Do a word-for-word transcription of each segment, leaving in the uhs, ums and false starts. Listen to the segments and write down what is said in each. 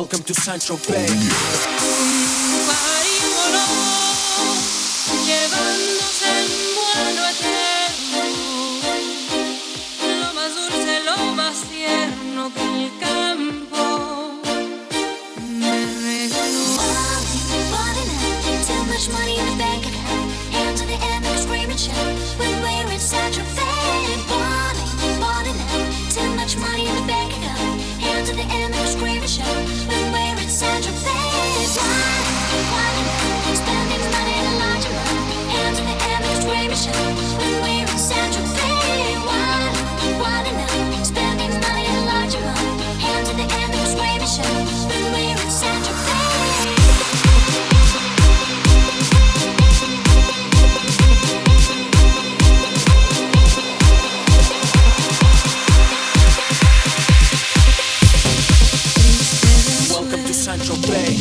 Welcome to Sancho Bay. Llevándose en vuelo eterno, lo más dulce, lo más tierno que el campo me regaló. Too much money in the bank account, hands in the air, make a scream and shout when we're in Sancho Bay. Balling, balling out. Too much money in the bank account, hands in the air, make a scream and shout when we're in Sancho Bay. Balling, balling out. Spending money in a large amount, hands in the air, make a scream and shout when we're in Sancho Bay. Balling, balling out. Spending money in a large amount, hands in the air, make a scream and shout when we're in Sancho Bay. Sancho Bay.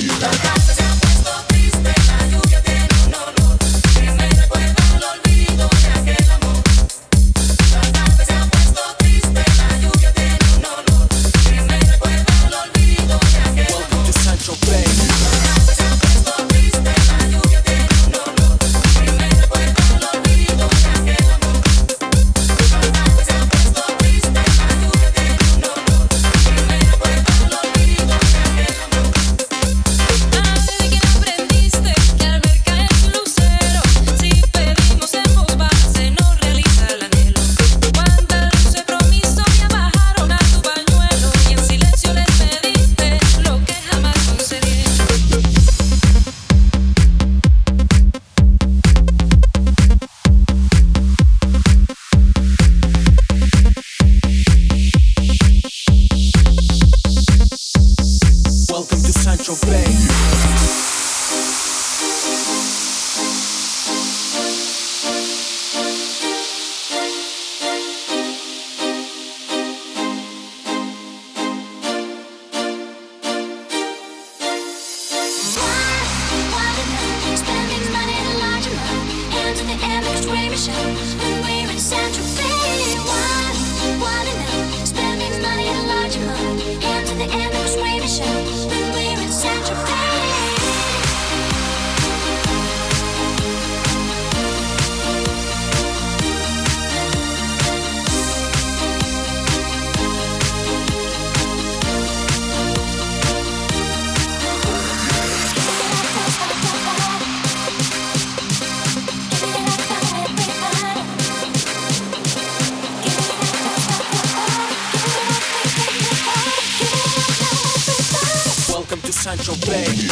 Sancho Bay.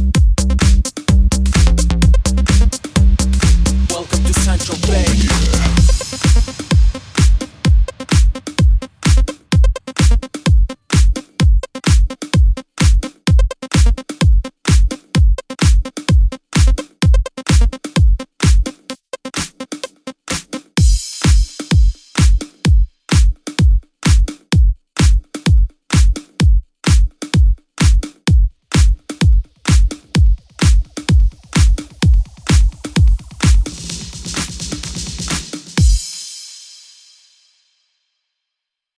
Sancho Bay.